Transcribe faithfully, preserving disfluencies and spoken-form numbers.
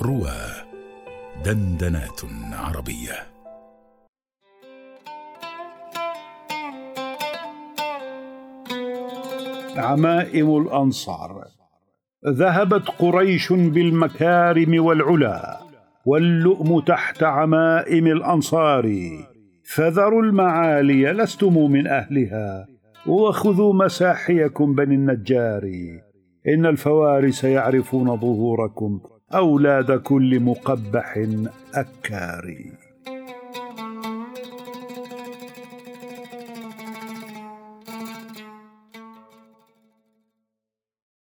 روى دندنات عربية. عمائم الأنصار. ذهبت قريش بالمكارم والعلا، واللؤم تحت عمائم الأنصار. فذروا المعالي لستم من أهلها، وخذوا مساحيكم بني النجار. إن الفوارس يعرفون ظهوركم، أولاد كل مقبح أكار.